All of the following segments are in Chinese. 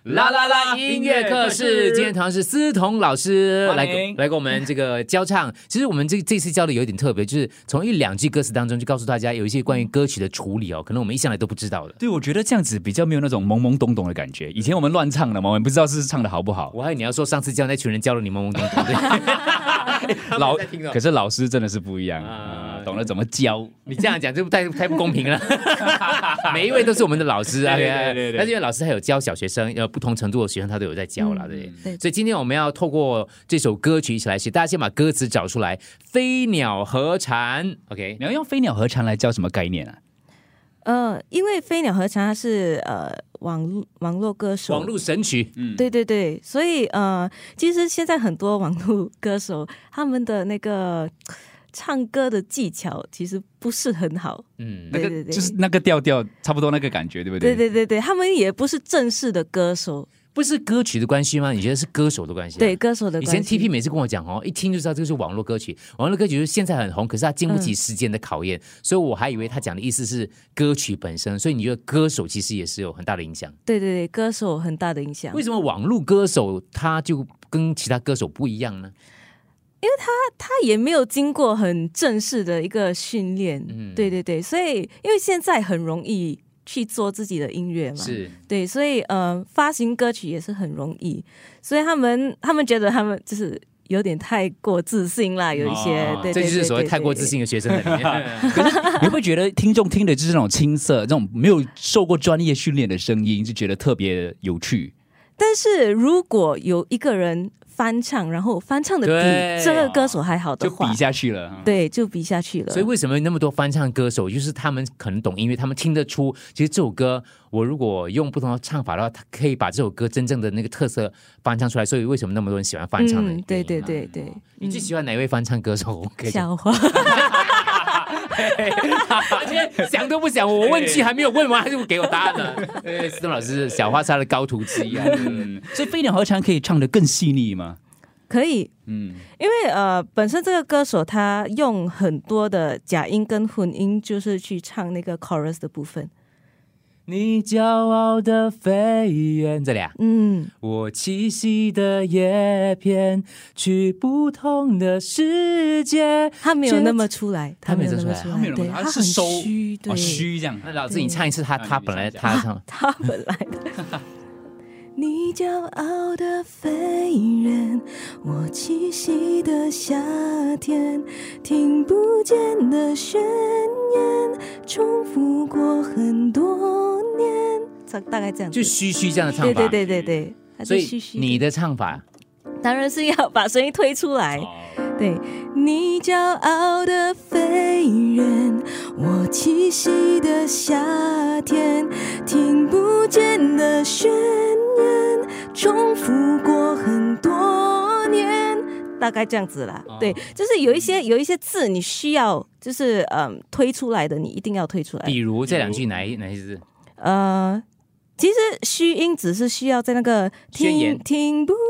啦啦啦音乐课室，今天同样是思彤老师来跟我们这个教唱。其实我们这次教的有点特别，就是从一两句歌词当中就告诉大家有一些关于歌曲的处理哦，可能我们一向来都不知道的。 对，我觉得这样子比较没有那种懵懵懂懂的感觉。以前我们乱唱的嘛，我们不知道是唱的好不好。 我还以为你要说上次教那群人教了你懵懵懂懂的。 可是老师真的是不一样懂得怎么教。 你这样讲就太不公平了。每一位都是我们的老师啊， 对。 但是因为老师还有教小学生，不同程度的学生他都有在教啦，对。所以今天我们要透过这首歌曲一起来写，大家先把歌词找出来。飞鸟和蝉 ，OK， 你要用飞鸟和蝉来教什么概念啊？ 因为飞鸟和蝉它是网络歌手， 网络神曲， 对，所以其实现在很多网络歌手他们的那个唱歌的技巧其实不是很好， 对，就是那个调调差不多那个感觉，对不对？ 对，他们也不是正式的歌手。 不是歌曲的关系吗？你觉得是歌手的关系？ 对，歌手的关系。 以前 TP 每次跟我讲一听就知道这个是网络歌曲。网络歌曲就是现在很红，可是它经不起时间的考验，所以我还以为他讲的意思是歌曲本身。所以你觉得歌手其实也是有很大的影响？ 对，歌手很大的影响。 为什么网络歌手他就跟其他歌手不一样呢？ 因为他也没有经过很正式的一个训练，对，所以因为现在很容易去做自己的音乐嘛， 是对，所以发行歌曲也是很容易，所以他们觉得他们就是有点太过自信啦，有一些，对， 这就是所谓太过自信的学生在里面。 可是你会觉得听众听的就是那种青涩、这种没有受过专业训练的声音，就觉得特别有趣。 但是如果有一个人翻唱，然后翻唱的比这个歌手还好的话， 就比下去了。 对，就比下去了。 所以为什么那么多翻唱歌手？就是他们可能懂音乐，他们听得出，其实这首歌我如果用不同的唱法的话，他可以把这首歌真正的那个特色翻唱出来。所以为什么那么多人喜欢翻唱呢？ 对。 你最喜欢哪一位翻唱歌手？ 小花。 今天想都不想，我问句还没有问完，他就给我答案了。思彤老师，小花是他的高徒之一啊。 所以飞鸟和蝉可以唱得更细腻吗？ 可以，因为本身这个歌手他用很多的假音跟混音，就是去唱那个 chorus 的部分。 你骄傲的飞远，这里啊，我栖息的叶片，去不同的世界。 他没有那么出来， 他没有那么出来， 对，他是收虚，对， 虚这样。 那老师，你唱一次他本来他唱， 他本来的。你骄傲的飞人，我栖息的夏天，听不见的宣言，重复过很多年，大概这样子， 就虚这样的唱法。 对， 所以你的唱法当然是要把声音推出来。对，你骄傲的飞人，我栖息的夏天，听不见的宣言，重复过很多年，大概这样子啦。对，就是有一些字你需要就是推出来的，你一定要推出来。 比如这两句哪一些字？ 其实虚音只是需要在那个宣言听不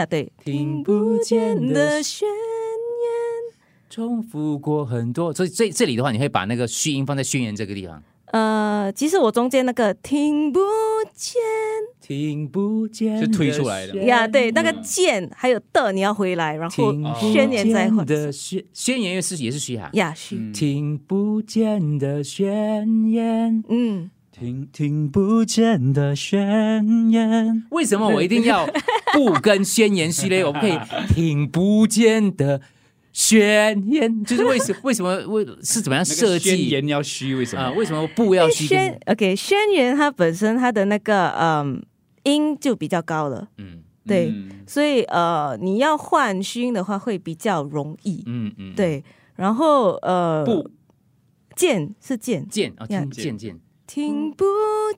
见的宣言， 重复过很多。所以这里的话，你会把那个虚音放在宣言这个地方。 其实我中间那个听不见是推出来的呀，对，那个见还有的你要回来，然后宣言再换。 宣言也是虚哈呀，虚。 听不见的宣言， 听不见的宣言。 为什么我一定要不跟宣言虚嘞？我不可以听不见的宣言，就是为什么是怎么样设计？ 宣言要虚，为什么？ 为什么不要虚宣言它本身它的那个音就比较高了，对，所以你要换虚音的话会比较容易，对，然后不见是见见。 听不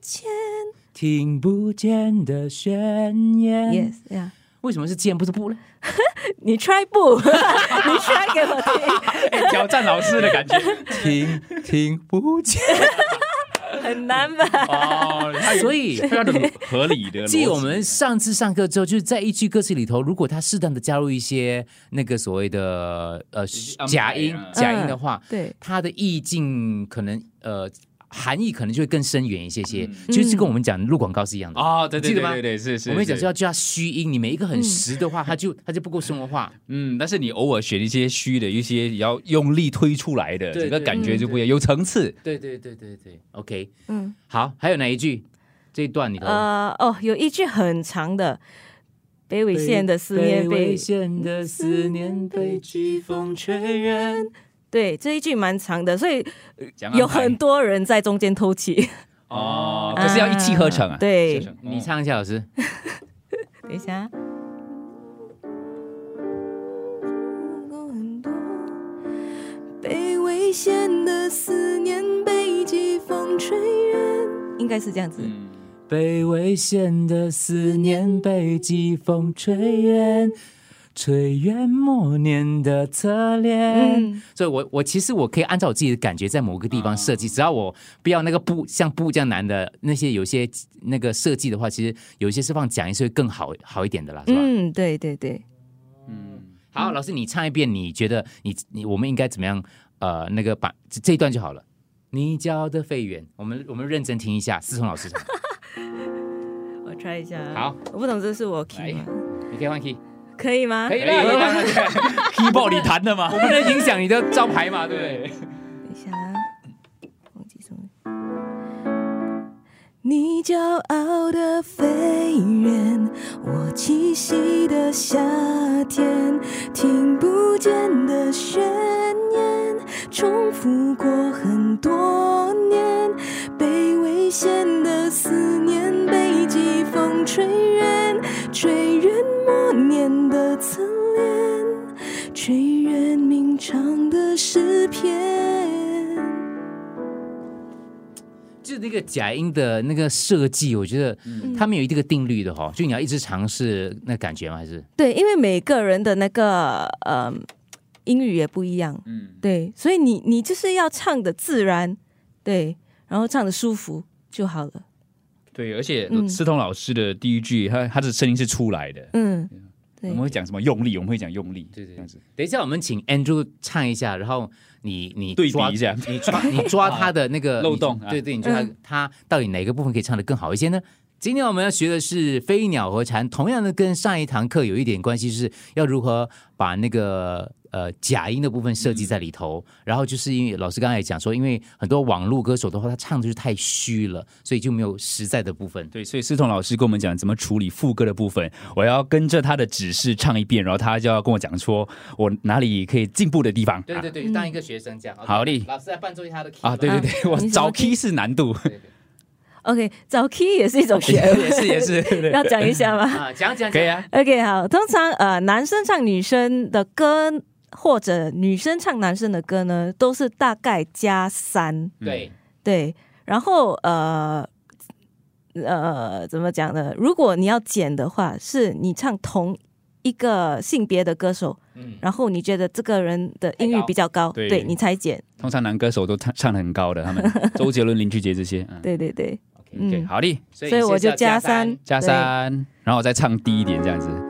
见的宣言 ，yes， yeah。 为什么是见不是不呢？ 你 try 不，你 try 给我听， 挑战老师的感觉。 听不见， 很难吧？ 所以非常的合理的。 继我们上次上课之后，就是在一句歌词里头，如果他适当的加入一些那个所谓的假音的话， 对， 它的意境可能含义可能就会更深远一些些，就是跟我们讲录广告是一样的哦，对对记得吗？ 对对，是。 我们讲说要叫它虚音，你每一个很实的话，它就不够生活化。 但是你偶尔选一些虚的，一些要用力推出来的，整个感觉就不一样，有层次。 对 ，OK， 好，还有哪一句？这一段里头有一句很长的。北纬线的思念北纬线的思念被季风吹远。 对，这一句蛮长的，所以有很多人在中间偷气。 哦，可是要一气呵成啊。 对， 你唱一下，老师。 等一下。北纬线的思念被季风吹远，应该是这样子。 北纬线的思念被季风吹远，吹远默念的侧脸。所以我其实我可以按照我自己的感觉在某个地方设计，只要我不要那个布像布这样难的那些有些那个设计的话，其实有一些是放假音是会更好一点的啦，是吧？ 对。 好，老师你唱一遍，你觉得我们应该怎么样？那个把这一段就好了。你教的飞远，我们认真听一下，思彤老师唱。 我 try 一下。 好， 我不懂这是我 key 吗？ 你可以换 key， 可以吗？ 可以了。 keyboard 你弹的吗？ 我们能影响你的招牌嘛，对不对？ 等一下，忘记什么？你骄傲的飞远，我栖息的夏天，听不见的宣言，重复过很多年，北纬线的思念被季风吹远，吹远默念的侧脸，吹远鸣唱的诗篇。 就是那个假音的那个设计，我觉得他们有一个定律的哈，就你要一直尝试那感觉吗？还是对，因为每个人的那个音域也不一样，对，所以你就是要唱的自然，对，然后唱的舒服就好了。 对，而且思彤老师的第一句，他的声音是出来的， 对， 我们会讲什么用力，我们会讲用力， 对，这样子。等一下，我们请 Andrew 唱一下，然后你对比一下， 你抓他的那个漏洞， 对，你抓他到底哪个部分可以唱得更好一些呢？今天我们要学的是飞鸟和蝉，同样的跟上一堂课有一点关系，是要如何把那个假音的部分设计在里头。然后就是因为老师刚才也讲说，因为很多网络歌手的话，他唱的就是太虚了，所以就没有实在的部分。 对，所以思彤老师跟我们讲怎么处理副歌的部分，我要跟着他的指示唱一遍，然后他就要跟我讲说我哪里可以进步的地方。 对，当一个学生这样。 好嘞， 老师来伴奏一下他的 key 啊，对，我找 key 是难度。 OK， 找 key 也是一种学问， 也是， 要讲一下吗？ 讲可以啊。 OK， 好，通常男生唱女生的歌，或者女生唱男生的歌呢，都是大概加3，对，然后怎么讲呢？如果你要减的话，是你唱同一个性别的歌手，然后你觉得这个人的音域比较高，对你才减。 通常男歌手都唱得很高的，他们周杰伦、林俊杰这些。 对。 OK， 好的， 所以我就加3， 然后我再唱低一点这样子。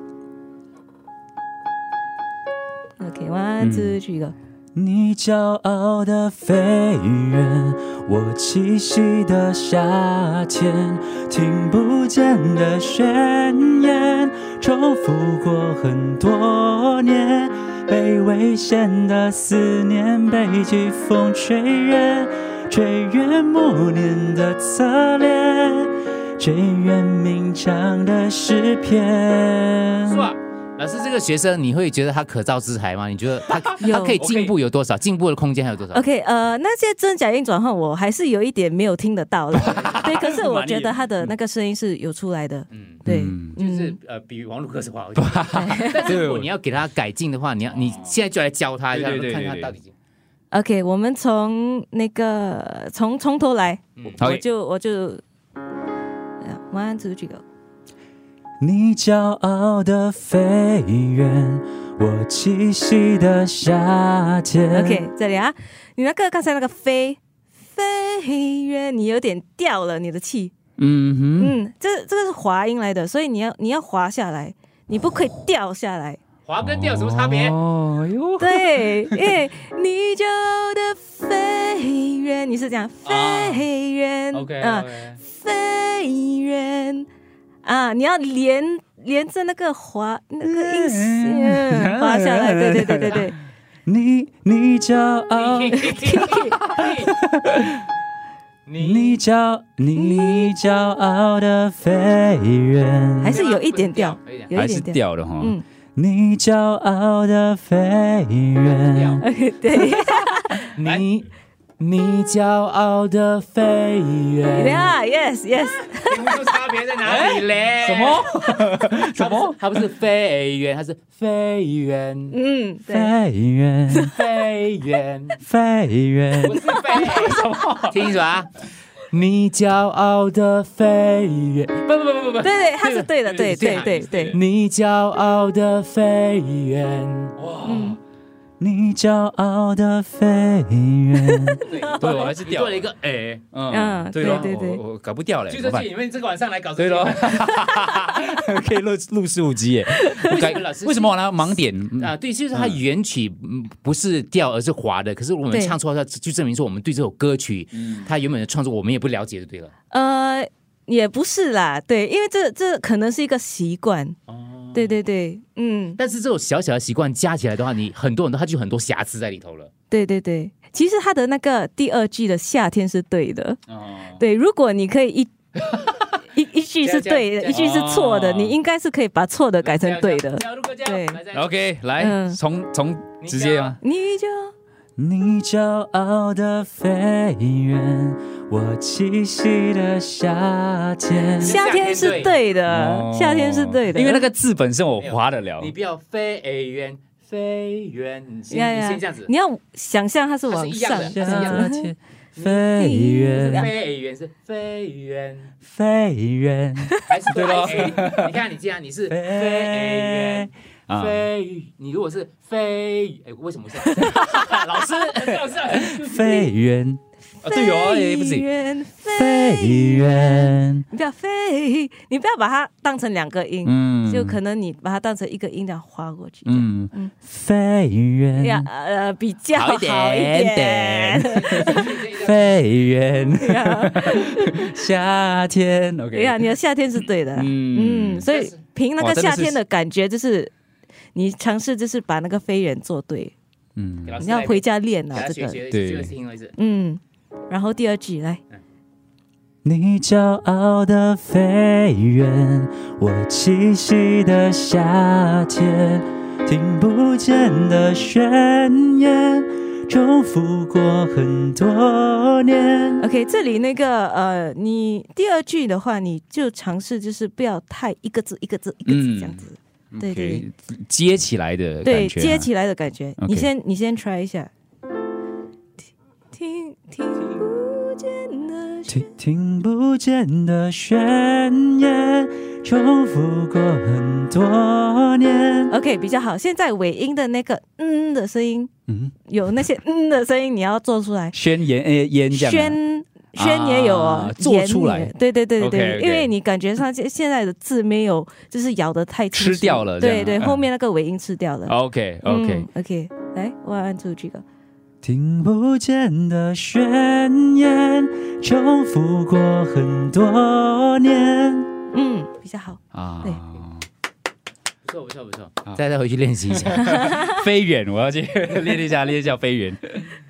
OK， 1、2、3 go。 你骄傲的飞远，我栖息的夏天，听不见的宣言，重复过很多年，被危险的思念被季风吹远，吹远默念的侧脸，吹远鸣唱的诗篇。 老师，这个学生你会觉得他可造之材吗？你觉得他可以进步有多少？进步的空间还有多少 ？OK， 那些真假音转换我还是有一点没有听得到了。对，可是我觉得他的那个声音是有出来的。对， 就是比网络歌手好一点。但是如果你要给他改进的话，你现在就来教他一下，看他到底。 OK， 我们从从头来，我就1、2、3 go。 你骄傲的飞远，我栖息的夏天。 OK， 这里啊，你那个刚才那个飞远，你有点掉了你的气。这个是滑音来的，所以你要滑下来，你不可以掉下来。 滑跟调有什么差别？ 哦哟， 对，因为你骄傲的飞远，你是讲飞远 ，OK， 飞远啊，你要连着那个滑那个音线滑下来，对。 你骄傲，你骄傲的飞远， 还是有一点调，有还是一点调的哈。你骄傲的飞远， 对， 你骄傲的飞远。 yes， 听不出差别在哪里嘞？什么？它不是飞远，它是飞远。 飞远， 飞远， 飞远， 不是飞什么？听清楚啊！你骄傲的飞远，不， 对，它是对的，对。 你骄傲的飞远，哇！ 你骄傲的飞远， 对，我还是掉了一个对我搞不掉嘞， 就是你们这个晚上来搞对咯，可以录15集耶。为什么我拿盲点啊？对，就是它原曲不是调而是滑的，可是我们唱错，就证明说我们对这首歌曲它原本的创作我们也不了解，就对了。 也不是啦，对，因为这可能是一个习惯。对， 但是这种小小的习惯加起来的话，你它就很多瑕疵在里头了。 对，其实他的那个第二句的夏天是对的。对，如果你可以一句是对的，一句是错的，你应该是可以把错的改成对的。对 ，OK， 来，从直接啊，你骄傲的飞远，我栖息的夏天。 夏天是对的，夏天是对的， 因为那个字本身我划得了。 你不要飞远，你先这样子。 你要想象它是往上， 是一样的。 飞远是飞远， 还是对咯？你看你这样，你是飞远。你如果是飞，为什么是老师？ 飞远，对哦，不行，飞远， 你不要把它当成两个音，就可能你把它当成一个音这样划过去， 飞远， 比较好一点， 飞远，夏天 ，OK， 呀，你的夏天是对的，所以凭那个夏天的感觉就是。你尝试就是把那个飞远做对，你要回家练啊，这个对， 然后第二句来， 你骄傲的飞远，我栖息的夏天，听不见的宣言，重复过很多年。 OK， 这里那个你第二句的话，你就尝试就是不要太一个字一个字这样子。对， 接起来的感觉， 对，接起来的感觉。你先 try 一下。 听不见的宣言，重复过很多年。 OK， 比较好。现在尾音的那个的声音，有那些的声音，你要做出来。 宣言烟这样。 宣也有哦， 做出来， 对，因为你感觉上现在的字没有，就是咬得太清楚， 吃掉了， 对，后面那个尾音吃掉了。 OK， 来，1、2、3， 听不见的宣言，重复过很多年。 比较好啊， 对， 不错，再回去练习一下飞远，我要去练一下飞远。